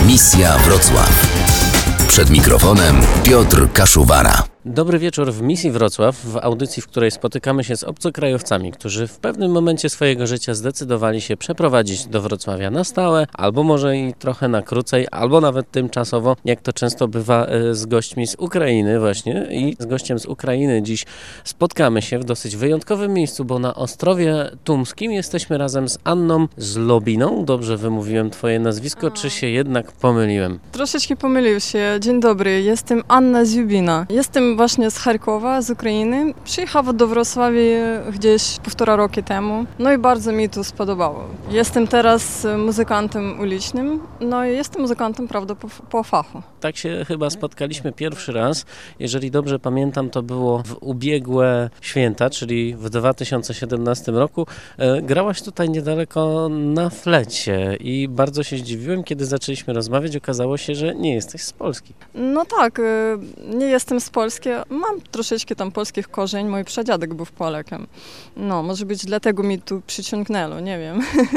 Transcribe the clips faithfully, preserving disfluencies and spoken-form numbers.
Misja Wrocław. Przed mikrofonem Piotr Kaszuwara. Dobry wieczór w Misji Wrocław, w audycji, w której spotykamy się z obcokrajowcami, którzy w pewnym momencie swojego życia zdecydowali się przeprowadzić do Wrocławia na stałe, albo może i trochę na krócej, albo nawet tymczasowo, jak to często bywa z gośćmi z Ukrainy właśnie. I z gościem z Ukrainy dziś spotkamy się w dosyć wyjątkowym miejscu, bo na Ostrowie Tumskim jesteśmy razem z Anną Zlobiną. Dobrze wymówiłem twoje nazwisko, czy się jednak pomyliłem? Troszeczkę pomylił się. Dzień dobry, jestem Anna Zlobina. Jestem właśnie z Charkowa, z Ukrainy. Przyjechałam do Wrocławia gdzieś półtora roku temu. No i bardzo mi to spodobało. Jestem teraz muzykantem ulicznym. No i jestem muzykantem, prawda, po, po fachu. Tak się chyba spotkaliśmy pierwszy raz. Jeżeli dobrze pamiętam, to było w ubiegłe święta, czyli w dwa tysiące siedemnastym roku. Grałaś tutaj niedaleko na flecie i bardzo się zdziwiłem, kiedy zaczęliśmy rozmawiać. Okazało się, że nie jesteś z Polski. No tak, nie jestem z Polski. Mam troszeczkę tam polskich korzeń. Mój pradziadek był Polakiem. No, może być dlatego mi tu przyciągnęło, nie wiem.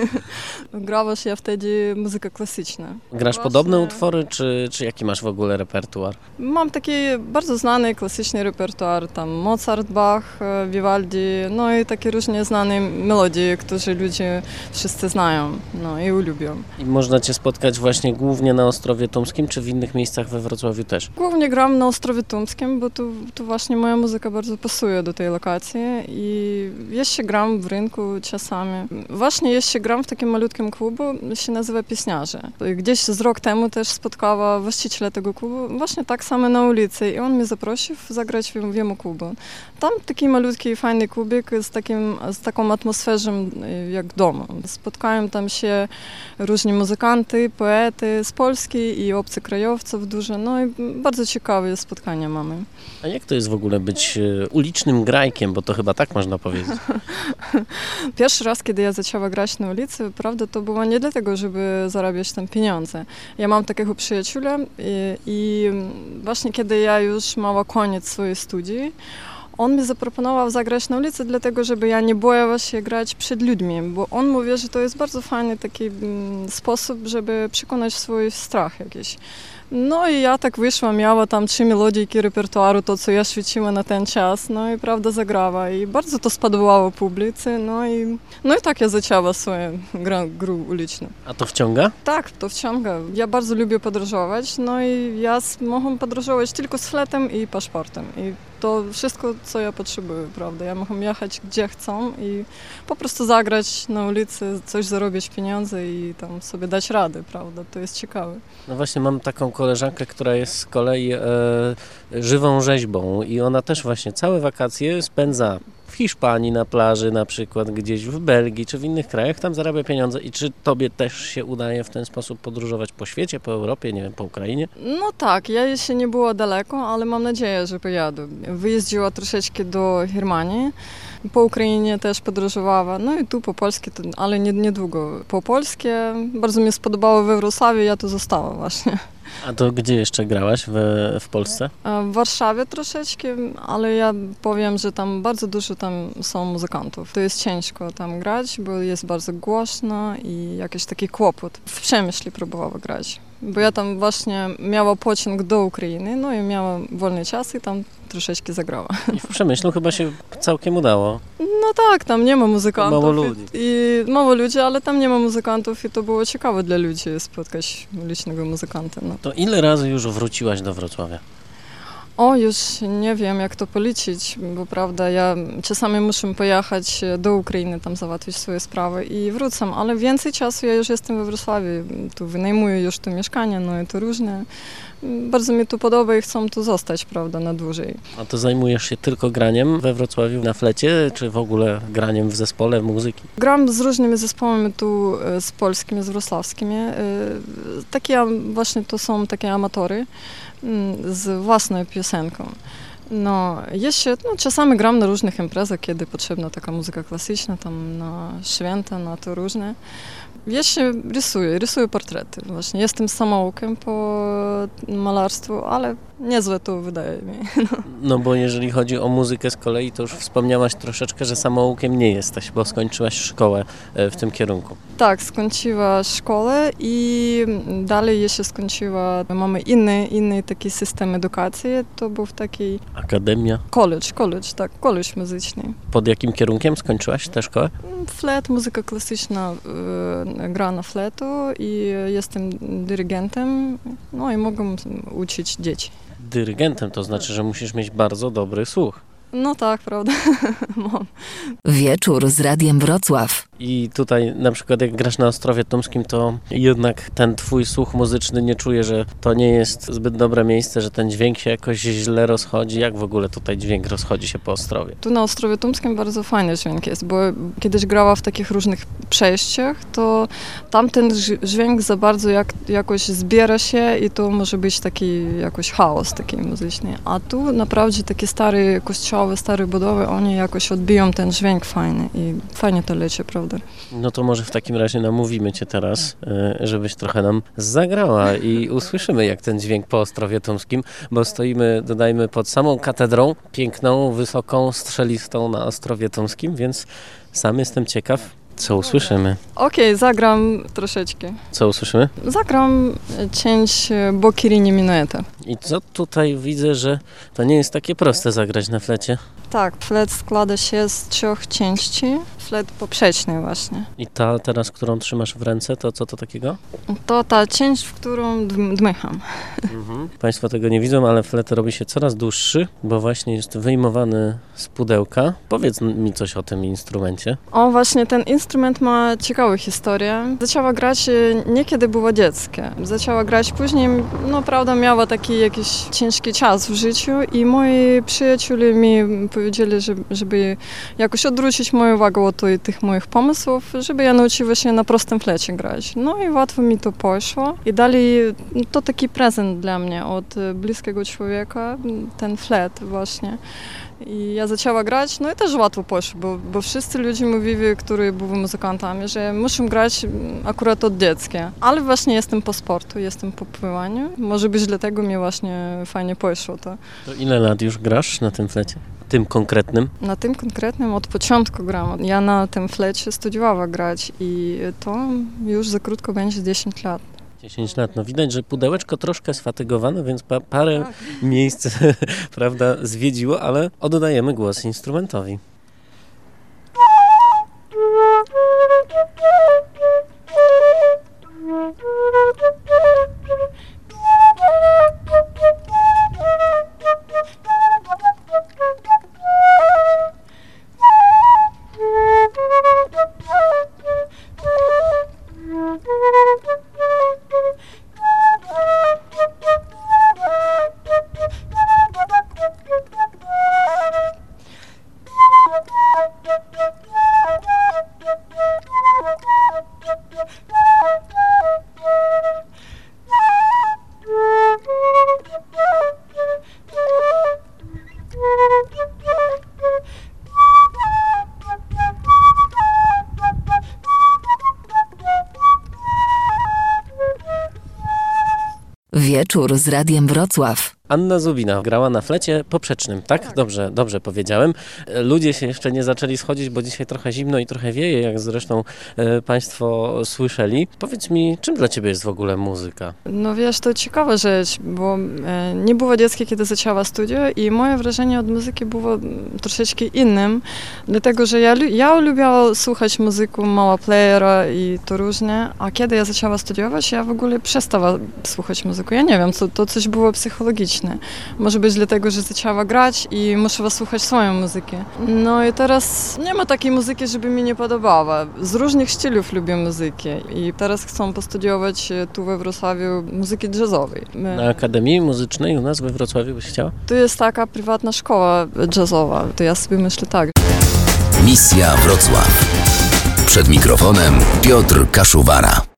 Grała się wtedy muzyka klasyczna. Grasz Właśnie... podobne utwory, czy, czy jaki masz w ogóle repertuar? Mam taki bardzo znany, klasyczny repertuar. Tam Mozart, Bach, Vivaldi, no i takie różne znane melodie, które ludzie wszyscy znają, no i lubią. I można cię spotkać właśnie głównie na Ostrowie Tumskim, czy w innych miejscach we Wrocławiu też? Głównie gram na Ostrowie Tumskim, bo tu, tu właśnie moja muzyka bardzo pasuje do tej lokacji i jeszcze gram w rynku czasami. Właśnie jeszcze gram w takim malutkim klubu, się nazywa Pieśniarze. Gdzieś z rok temu też spotkała właściciela tego klubu, właśnie tak samo na ulicy i on mnie zaprosił zagrać w, w jego klubu. Tam taki malutki, fajny klubik z, takim, z taką atmosferą jak domu. Spotkają tam się różni muzykanty, poety z Polski i obcokrajowców dużo, no i bardzo ciekawe spotkania mamy. A jak to jest w ogóle być ulicznym grajkiem, bo to chyba tak można powiedzieć? Pierwszy raz, kiedy ja zaczęła grać na ulicy, prawda, to było nie dlatego, żeby zarabiać tam pieniądze. Ja mam takiego przyjaciela i, i właśnie kiedy ja już miała koniec swojej studii, on mi zaproponował zagrać na ulicy, dlatego, żeby ja nie bała się grać przed ludźmi, bo on mówi, że to jest bardzo fajny taki sposób, żeby przekonać swój strach jakiś. No i ja tak wyszła, miała tam trzy melodijki repertuaru, to co ja świeciła na ten czas, no i prawda zagrała i bardzo to spodobało publicy, no i, no i tak ja zaczęła swoją grę, grę uliczną. A to wciąga? Tak, to wciąga. Ja bardzo lubię podróżować, no i ja mogę podróżować tylko z fletem i paszportem i to wszystko, co ja potrzebuję, prawda? Ja mogę jechać gdzie chcą i po prostu zagrać na ulicy, coś zarobić pieniądze i tam sobie dać radę, prawda? To jest ciekawe. No właśnie mam taką koleżankę, która jest z kolei e, żywą rzeźbą i ona też właśnie całe wakacje spędza w Hiszpanii na plaży na przykład, gdzieś w Belgii czy w innych krajach, tam zarabia pieniądze. I czy tobie też się udaje w ten sposób podróżować po świecie, po Europie, nie wiem, po Ukrainie? No tak, ja jeszcze nie było daleko, ale mam nadzieję, że pojadę. Wyjeździła troszeczkę do Germanii, po Ukrainie też podróżowała, no i tu po polskie, ale nie, niedługo. Po polskie bardzo mi spodobało we Wrocławiu, ja tu została właśnie. A to gdzie jeszcze grałaś w, w Polsce? W Warszawie troszeczkę, ale ja powiem, że tam bardzo dużo tam są muzykantów. To jest ciężko tam grać, bo jest bardzo głośno i jakiś taki kłopot. W Przemyślu próbowała grać, bo ja tam właśnie miała pociąg do Ukrainy, no i miała wolny czas i tam troszeczkę zagrała. I w Przemyślu chyba się całkiem udało. No tak, tam nie ma muzykantów. Mało ludzi. I, i mało ludzi, ale tam nie ma muzykantów i to było ciekawe dla ludzi spotkać licznego muzykanta. No. To ile razy już wróciłaś do Wrocławia? O, już nie wiem, jak to policzyć, bo prawda, ja czasami muszę pojechać do Ukrainy, tam załatwić swoje sprawy i wrócę, ale więcej czasu ja już jestem we Wrocławiu, tu wynajmuję już tu mieszkanie, no i to różne. Bardzo mi tu podoba i chcą tu zostać, prawda, na dłużej. A to zajmujesz się tylko graniem we Wrocławiu na flecie, czy w ogóle graniem w zespole muzyki? Gram z różnymi zespołami tu, z polskimi, z wrocławskimi. Takie właśnie to są takie amatory z własną piosenką. No, jeszcze, no, czasami gram na różnych imprezach, kiedy potrzebna taka muzyka klasyczna, tam na święta, na to różne. Jeszcze rysuję, rysuję portrety. Właśnie jestem samoukiem po malarstwu, ale niezłe to wydaje mi. No. no bo jeżeli chodzi o muzykę z kolei, to już wspomniałaś troszeczkę, że samoukiem nie jesteś, bo skończyłaś szkołę w tym kierunku. Tak, skończyła szkołę i dalej jeszcze skończyła, mamy inny, inny taki system edukacji, to był taki... Akademia. College, college, tak, college muzyczny. Pod jakim kierunkiem skończyłaś tę szkołę? Flet, muzyka klasyczna, e, gra na fletu i jestem dyrygentem, no i mogę uczyć dzieci. Dyrygentem to znaczy, że musisz mieć bardzo dobry słuch. No tak, prawda. Mam. Wieczór z Radiem Wrocław. I tutaj na przykład jak grasz na Ostrowie Tumskim, to jednak ten twój słuch muzyczny nie czuje, że to nie jest zbyt dobre miejsce, że ten dźwięk się jakoś źle rozchodzi. Jak w ogóle tutaj dźwięk rozchodzi się po Ostrowie? Tu na Ostrowie Tumskim bardzo fajny dźwięk jest, bo kiedyś grała w takich różnych przejściach, to tamten dźwięk za bardzo jak, jakoś zbiera się i to może być taki jakoś chaos taki muzyczny. A tu naprawdę takie stare kościoły, stare budowy, oni jakoś odbiją ten dźwięk fajny i fajnie to leci, prawda? No to może w takim razie namówimy cię teraz, żebyś trochę nam zagrała i usłyszymy, jak ten dźwięk po Ostrowie Tumskim, bo stoimy, dodajmy, pod samą katedrą, piękną, wysoką, strzelistą na Ostrowie Tumskim, więc sam jestem ciekaw, co usłyszymy. Okej, okay, zagram troszeczkę. Co usłyszymy? Zagram część Boccherini Minueta. I co tutaj widzę, że to nie jest takie proste zagrać na flecie? Tak, flet składa się z trzech części. Flet poprzeczny właśnie. I ta teraz, którą trzymasz w ręce, to co to takiego? To ta część, w którą dmycham. Mhm. Państwo tego nie widzą, ale flet robi się coraz dłuższy, bo właśnie jest wyjmowany z pudełka. Powiedz mi coś o tym instrumencie. O, właśnie ten instrument ma ciekawą historię. Zaczęła grać nie kiedy była dzieckiem. Zaczęła grać później, no prawda, miała taki jakiś ciężki czas w życiu i moi przyjaciele mi powiedzieli, żeby, żeby jakoś odwrócić moją uwagę od tych moich pomysłów, żeby ja nauczyła się na prostym flecie grać. No i łatwo mi to poszło. I dalej to taki prezent dla mnie od bliskiego człowieka, ten flet właśnie. I ja zaczęła grać, no i też łatwo poszło, bo, bo wszyscy ludzie mówili, którzy byli muzykantami, że muszą grać akurat od dziecka. Ale właśnie jestem po sportu, jestem po pływaniu. Może być dlatego mi właśnie fajnie poszło to. To ile lat już grasz na tym flecie? Tym konkretnym? Na tym konkretnym od początku gram. Ja na tym flecie studiowała grać i to już za krótko będzie dziesięć lat. dziesięć lat. No widać, że pudełeczko troszkę sfatygowane, więc pa- parę tak. miejsc prawda, zwiedziło, ale oddajemy głos instrumentowi. Wieczór z Radiem Wrocław. Anna Zubina grała na flecie poprzecznym, tak? tak? Dobrze, dobrze powiedziałem. Ludzie się jeszcze nie zaczęli schodzić, bo dzisiaj trochę zimno i trochę wieje, jak zresztą e, Państwo słyszeli. Powiedz mi, czym dla Ciebie jest w ogóle muzyka? No wiesz, to ciekawa rzecz, bo e, nie było dziecka, kiedy zaczęła studia i moje wrażenie od muzyki było troszeczkę innym, dlatego, że ja, ja lubiłam słuchać muzyki, mała playera i to różnie, a kiedy ja zaczęła studiować, ja w ogóle przestała słuchać muzyki. Ja nie wiem, co, to coś było psychologiczne. Może być dlatego, że zaczęła grać i muszę słuchać swojej muzyki. No i teraz nie ma takiej muzyki, żeby mi nie podobała. Z różnych stylów lubię muzyki i teraz chcę postudiować tu we Wrocławiu muzyki jazzowej. Na Akademii Muzycznej u nas we Wrocławiu byś chciała? Tu jest taka prywatna szkoła jazzowa, to ja sobie myślę tak. Misja Wrocław. Przed mikrofonem Piotr Kaszuwara.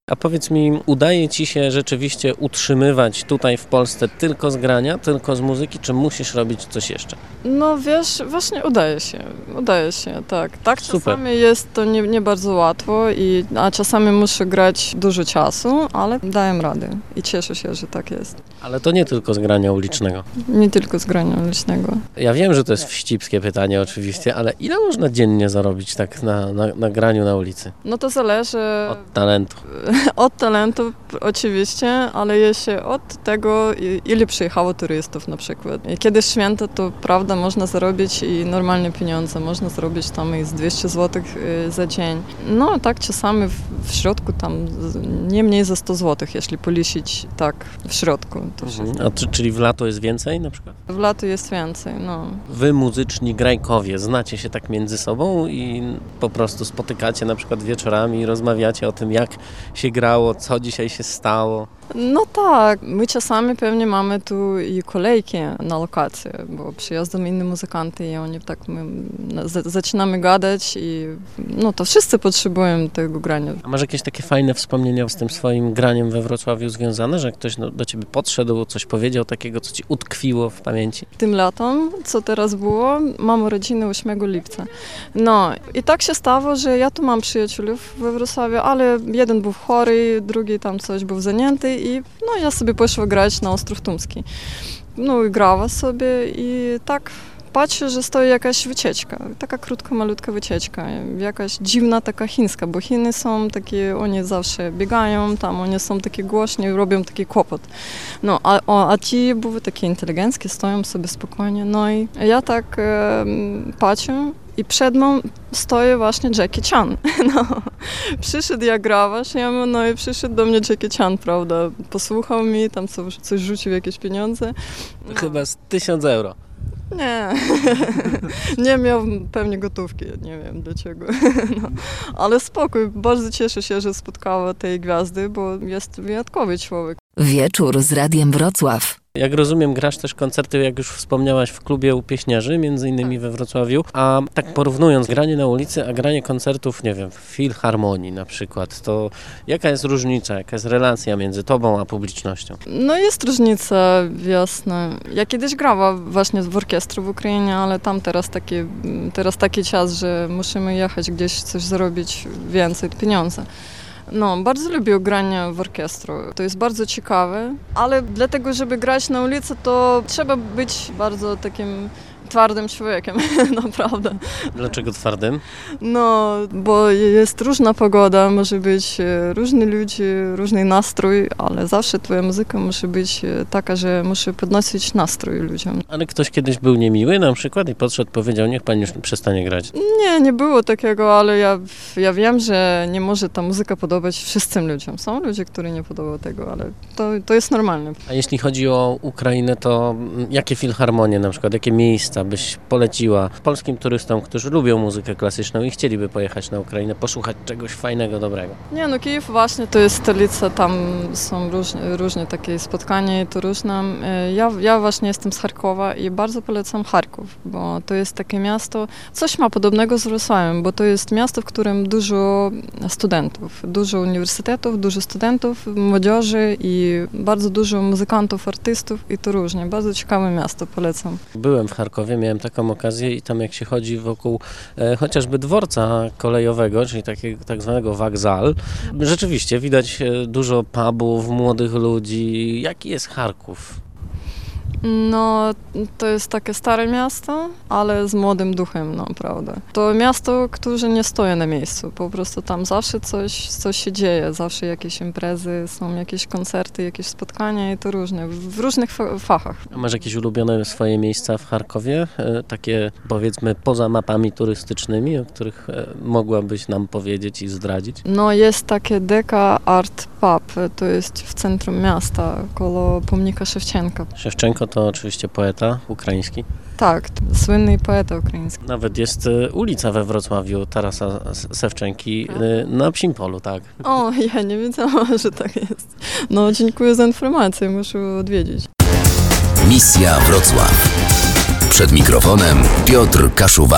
A powiedz mi, udaje Ci się rzeczywiście utrzymywać tutaj w Polsce tylko z grania, tylko z muzyki, czy musisz robić coś jeszcze? No wiesz, właśnie udaje się, udaje się, tak. Tak Super. czasami jest to nie, nie bardzo łatwo, i, a czasami muszę grać dużo czasu, ale daję radę i cieszę się, że tak jest. Ale to nie tylko z grania ulicznego. Nie tylko z grania ulicznego. Ja wiem, że to jest wścibskie pytanie oczywiście, ale ile można dziennie zarobić tak na, na, na graniu na ulicy? No to zależy Od talentu. od talentu oczywiście, ale jeszcze od tego, ile przyjechało turystów na przykład. Kiedy święta, to prawda, można zarobić i normalne pieniądze, można zarobić tam i z dwieście złotych za dzień. No tak czasami w, w środku tam nie mniej za sto złotych, jeśli policzyć tak w środku. To Mhm. A czy, czyli w lato jest więcej na przykład? w lato jest więcej, no. Wy, muzyczni grajkowie, znacie się tak między sobą i po prostu spotykacie na przykład wieczorami i rozmawiacie o tym, jak się grało, co dzisiaj się stało? No tak, my czasami pewnie mamy tu i kolejki na lokację, bo przyjeżdżają inni muzykanty i oni tak, my z- zaczynamy gadać i no to wszyscy potrzebują tego grania. A masz jakieś takie fajne wspomnienia z tym swoim graniem we Wrocławiu związane, że ktoś no, do ciebie podszedł, coś powiedział takiego, co ci utkwiło w pamięci? Tym latem, co teraz było, mam urodziny ósmego lipca. No i tak się stało, że ja tu mam przyjaciółów we Wrocławiu, ale jeden był chory, drugi tam coś był zajęty i no ja sobie poszła grać na Ostrów Tumski. No i grała sobie i tak patrzę, że stoi jakaś wycieczka, taka krótka, malutka wycieczka, jakaś dziwna, taka chińska, bo Chiny są takie, oni zawsze biegają, tam oni są takie głośni, robią taki kłopot. No, a, o, a ci były takie inteligenckie, stoją sobie spokojnie, no i ja tak e, patrzę i przed mną stoi właśnie Jackie Chan. No, przyszedł jak grawasz, ja mówię, no i przyszedł do mnie Jackie Chan, prawda, posłuchał mi, tam coś, coś rzucił, jakieś pieniądze. No. Chyba z tysiąc euro. Nie, nie miał pewnie gotówki, nie wiem dlaczego, no. Ale spokój, bardzo cieszę się, że spotkała tej gwiazdy, bo jest wyjątkowy człowiek. Wieczór z Radiem Wrocław. Jak rozumiem, grasz też koncerty, jak już wspomniałaś, w klubie u Pieśniarzy, między innymi we Wrocławiu. A tak porównując granie na ulicy, a granie koncertów, nie wiem, w filharmonii na przykład, to jaka jest różnica, jaka jest relacja między tobą a publicznością? No jest różnica, jasna. Ja kiedyś grała właśnie w orkiestrze w Ukrainie, ale tam teraz taki, teraz taki czas, że musimy jechać gdzieś coś zarobić więcej pieniędzy. No, bardzo lubię granie w orkiestrze. To jest bardzo ciekawe, ale dlatego, żeby grać na ulicy, to trzeba być bardzo takim twardym człowiekiem, naprawdę. Dlaczego twardym? No, bo jest różna pogoda, może być różni ludzie, różny nastrój, ale zawsze twoja muzyka musi być taka, że musi podnosić nastrój ludziom. Ale ktoś kiedyś był niemiły na przykład i podszedł, powiedział, niech pan już przestanie grać. Nie, nie było takiego, ale ja, ja wiem, że nie może ta muzyka podobać wszystkim ludziom. Są ludzie, którzy nie podoba tego, ale to, to jest normalne. A jeśli chodzi o Ukrainę, to jakie filharmonie na przykład, jakie miejsca byś poleciła polskim turystom, którzy lubią muzykę klasyczną i chcieliby pojechać na Ukrainę, posłuchać czegoś fajnego, dobrego? Nie, no Kijów właśnie to jest stolica, tam są różne, różne takie spotkania i to różne. Ja, ja właśnie jestem z Charkowa i bardzo polecam Charków, bo to jest takie miasto, coś ma podobnego z Wrocławiem, bo to jest miasto, w którym dużo studentów, dużo uniwersytetów, dużo studentów, młodzieży i bardzo dużo muzykantów, artystów i to różnie. Bardzo ciekawe miasto, polecam. Byłem w Charkowie, miałem taką okazję i tam jak się chodzi wokół e, chociażby dworca kolejowego, czyli takiego tak zwanego wokzal, rzeczywiście widać e, dużo pubów, młodych ludzi. Jaki jest Charków? No, to jest takie stare miasto, ale z młodym duchem, no, prawda. To miasto, które nie stoi na miejscu, po prostu tam zawsze coś, coś się dzieje, zawsze jakieś imprezy, są jakieś koncerty, jakieś spotkania i to różne, w różnych fa- fachach. A masz jakieś ulubione swoje miejsca w Charkowie? E, takie powiedzmy poza mapami turystycznymi, o których e, mogłabyś nam powiedzieć i zdradzić? No, jest takie Deka Art Pub, to jest w centrum miasta, koło pomnika Szewczenka. Szewczenko to oczywiście poeta ukraiński. Tak, słynny poeta ukraiński. Nawet jest e, ulica we Wrocławiu Tarasa Szewczenki e, na Psim Polu, tak. O, ja nie wiedziałam, że tak jest. No, dziękuję za informację, muszę odwiedzić. Misja Wrocław. Przed mikrofonem Piotr Kaszuwara.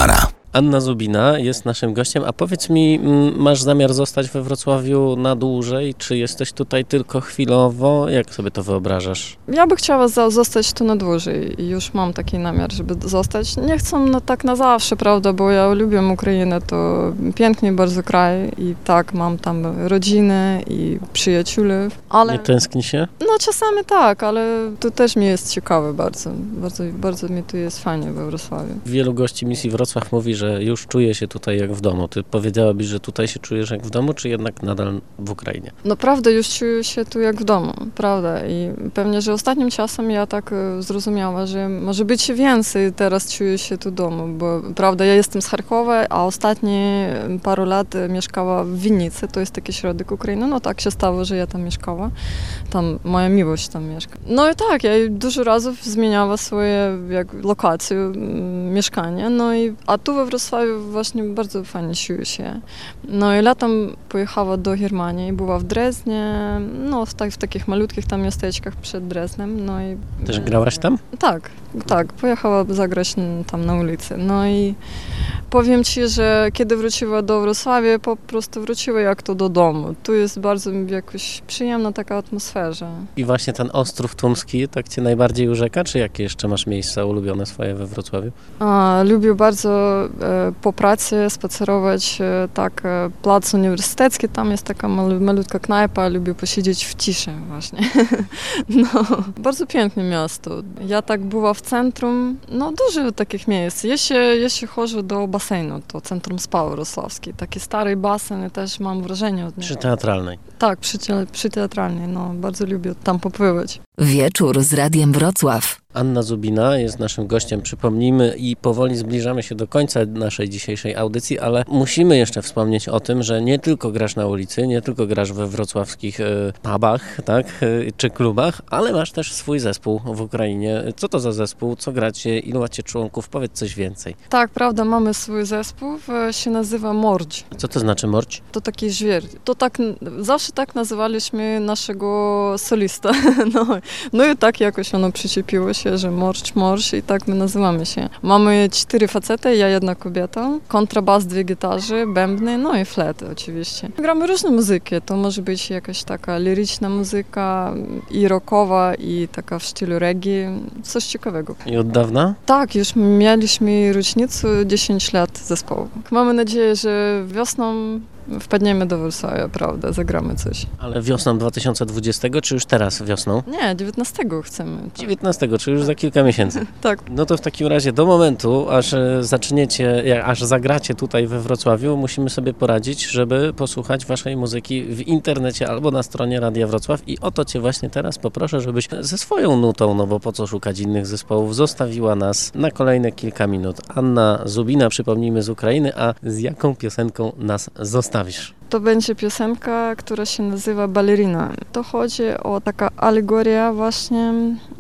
Anna Zubina jest naszym gościem, a powiedz mi, masz zamiar zostać we Wrocławiu na dłużej, czy jesteś tutaj tylko chwilowo? Jak sobie to wyobrażasz? Ja by chciała za, zostać tu na dłużej i już mam taki namiar, żeby zostać. Nie chcę na, tak na zawsze, prawda, bo ja lubię Ukrainę, to piękny bardzo kraj i tak, mam tam rodzinę i przyjaciół, ale... Nie tęskni się? No czasami tak, ale to też mi jest ciekawe bardzo, bardzo, bardzo mi tu jest fajnie we Wrocławiu. Wielu gości misji Wrocław mówi, że już czuje się tutaj jak w domu. Ty powiedziałabyś, że tutaj się czujesz jak w domu, czy jednak nadal w Ukrainie? Naprawdę już czuję się tu jak w domu, prawda, i pewnie, że ostatnim czasem ja tak zrozumiała, że może być więcej teraz czuję się tu w domu, bo prawda, ja jestem z Charkowa, a ostatnie paru lat mieszkała w Winnicy, to jest taki środek Ukrainy, no tak się stało, że ja tam mieszkała, tam moja miłość tam mieszka. No i tak, ja dużo razy zmieniała swoje jak, lokacje, mieszkanie, no i a tu we Wrocławiu właśnie bardzo fajnie czuję się. No i latem pojechała do Germanii, była w Dreznie, no w, tak, w takich malutkich tam miasteczkach przed Dreznem, no i... Też grałaś tam? Tak, tak, pojechała zagrać tam na ulicy, no i powiem ci, że kiedy wróciła do Wrocławia, po prostu wróciła jak to do domu. Tu jest bardzo jakoś przyjemna taka atmosfera. I właśnie ten Ostrów Tumski tak cię najbardziej urzeka, czy jakie jeszcze masz miejsca ulubione swoje we Wrocławiu? A, lubię bardzo e, po pracy spacerować e, tak e, plac uniwersytecki, tam jest taka mal, malutka knajpa, lubię posiedzieć w ciszy właśnie. No, bardzo piękne miasto. Ja tak była w centrum, no dużo takich miejsc. Jeśli, jeśli chodzi do basenu, to Centrum Spa Wrocławskie. Taki stary basen, też mam wrażenie od niego. Przy teatralnej. Tak, przy, przy teatralnej, no bardzo lubię tam popływać. Wieczór z Radiem Wrocław. Anna Zubina jest naszym gościem, przypomnijmy, i powoli zbliżamy się do końca naszej dzisiejszej audycji, ale musimy jeszcze wspomnieć o tym, że nie tylko grasz na ulicy, nie tylko grasz we wrocławskich y, pubach, tak, y, czy klubach, ale masz też swój zespół w Ukrainie. Co to za zespół? Co gracie? Ilu macie członków? Powiedz coś więcej. Tak, prawda, mamy swój zespół, się nazywa Mordź. Co to znaczy Mordź? To taki żwir. To tak, zawsze tak nazywaliśmy naszego solista. No, no i tak jakoś ono przyczepiło się, że Mordź, Mordź i tak my nazywamy się. Mamy cztery facety, ja jedna kobieta, kontrabas, dwie gitary, bębny, no i flety oczywiście. Gramy różne muzyki, to może być jakaś taka liryczna muzyka i rockowa, i taka w stylu reggae, coś ciekawego. I od dawna? Tak, już mieliśmy rocznicę dziesięć lat zespołu. Mamy nadzieję, że wiosną wpadniemy do Wrocławia, prawda, zagramy coś. Ale wiosną dwa tysiące dwudziestego, czy już teraz wiosną? Nie, dziewiętnastego chcemy. dziewiętnastego, czy już za kilka miesięcy. Tak. No to w takim razie do momentu, aż zaczniecie, aż zagracie tutaj we Wrocławiu, musimy sobie poradzić, żeby posłuchać waszej muzyki w internecie albo na stronie Radia Wrocław, i o to cię właśnie teraz poproszę, żebyś ze swoją nutą, no bo po co szukać innych zespołów, zostawiła nas na kolejne kilka minut. Anna Zubina, przypomnijmy, z Ukrainy, a z jaką piosenką nas zostawisz? To będzie piosenka, która się nazywa Balerina. To chodzi o taka alegoria właśnie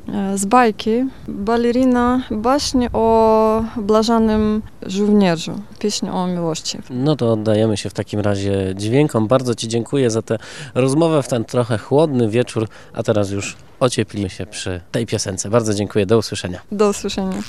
z bajki. Balerina właśnie o błażanym żołnierzu. Pieśń o miłości. No to oddajemy się w takim razie dźwiękom. Bardzo ci dziękuję za tę rozmowę w ten trochę chłodny wieczór, a teraz już ocieplimy się przy tej piosence. Bardzo dziękuję. Do usłyszenia. Do usłyszenia.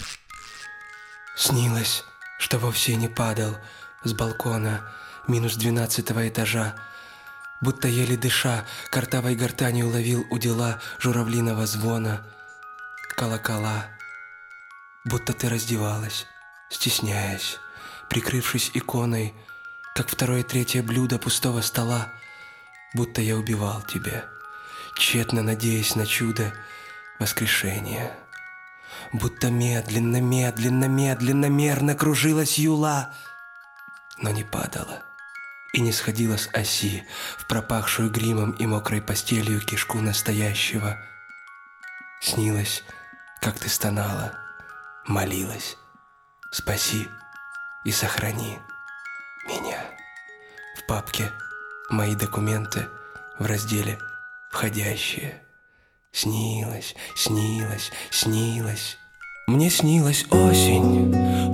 Снилось, что вовсе не падал с балкона минус двенадцатого этажа, будто еле дыша, картавой гортанью ловил удила журавлиного звона. Колокола, будто ты раздевалась, стесняясь, прикрывшись иконой, как второе-третье блюдо пустого стола, будто я убивал тебя, тщетно надеясь на чудо воскрешения. Будто медленно, медленно, медленно, мерно кружилась юла, но не падала и не сходила с оси в пропахшую гримом и мокрой постелью кишку настоящего. Снилось, как ты стонала, молилась: спаси и сохрани меня. В папке мои документы в разделе «Входящие». Снилось, снилось, снилось. Мне снилась осень,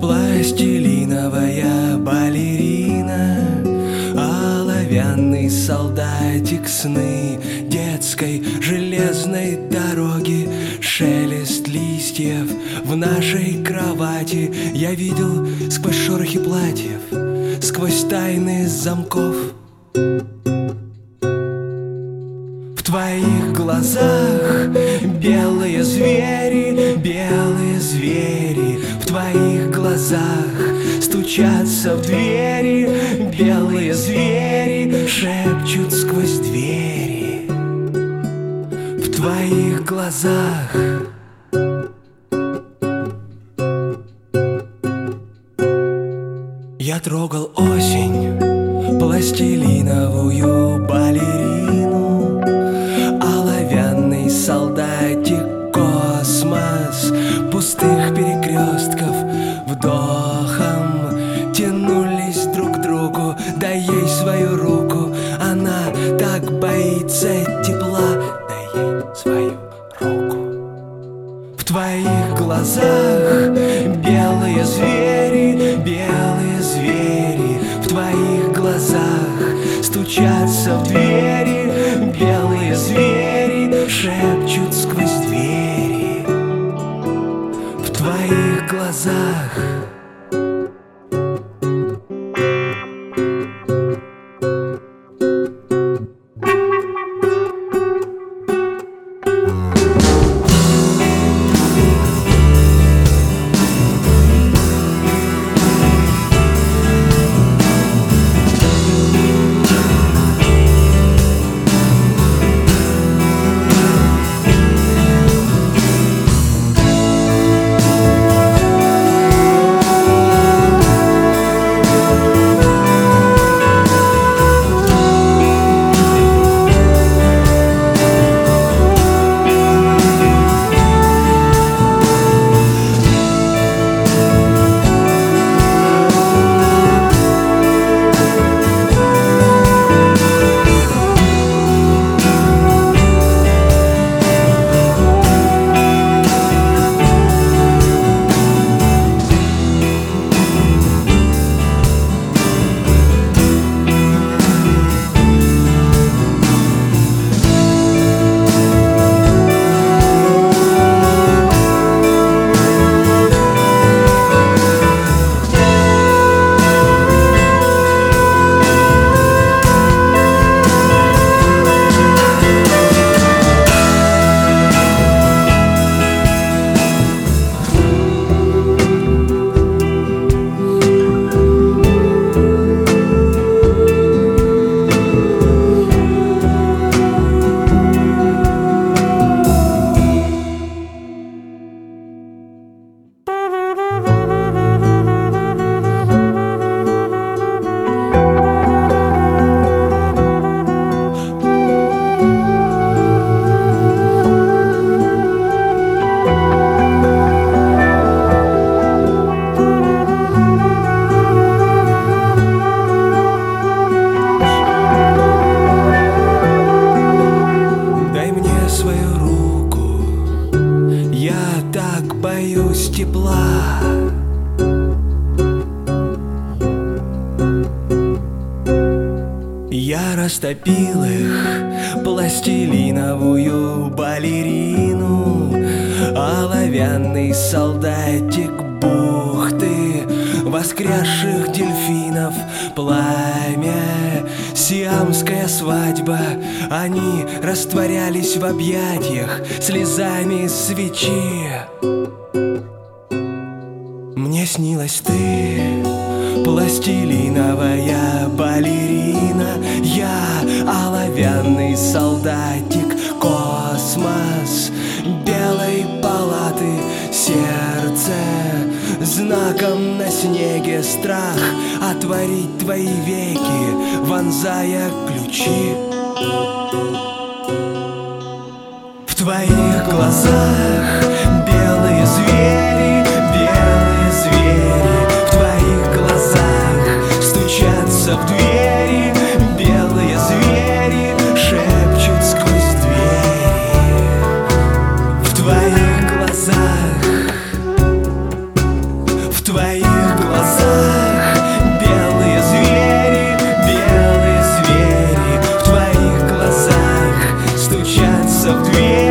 пластилиновая балерина, оловянный солдатик, сны, дед советской железной дороги, шелест листьев в нашей кровати. Я видел сквозь шорохи платьев, сквозь тайны замков. В твоих глазах белые звери, белые звери. В твоих глазах стучатся в двери, белые звери шепчут сквозь двери. В твоих глазах я трогал осень, пластилиновую балерину, оловянный солдатик, космос пустых перекрестков вдохом тянулись друг к другу. Дай ей свою руку, она так боится тепла. Дай ей свою руку. В твоих глазах белые звери, белые звери. В твоих глазах стучатся в двери, белые звери шепчут сквозь двери. В твоих глазах растопил их пластилиновую балерину, оловянный солдатик бухты воскресших дельфинов, пламя, сиамская свадьба. Они растворялись в объятиях слезами свечи. Мне снилась ты, пластилиновая балерина. Я оловянный солдатик, космос белой палаты, сердце знаком на снеге, страх отворить твои веки, вонзая ключи. В твоих глазах белые звери, белые звери. В твоих глазах стучатся в двери, белые звери шепчут сквозь двери. В твоих глазах, в твоих глазах белые звери, белые звери. В твоих глазах стучатся в дверь.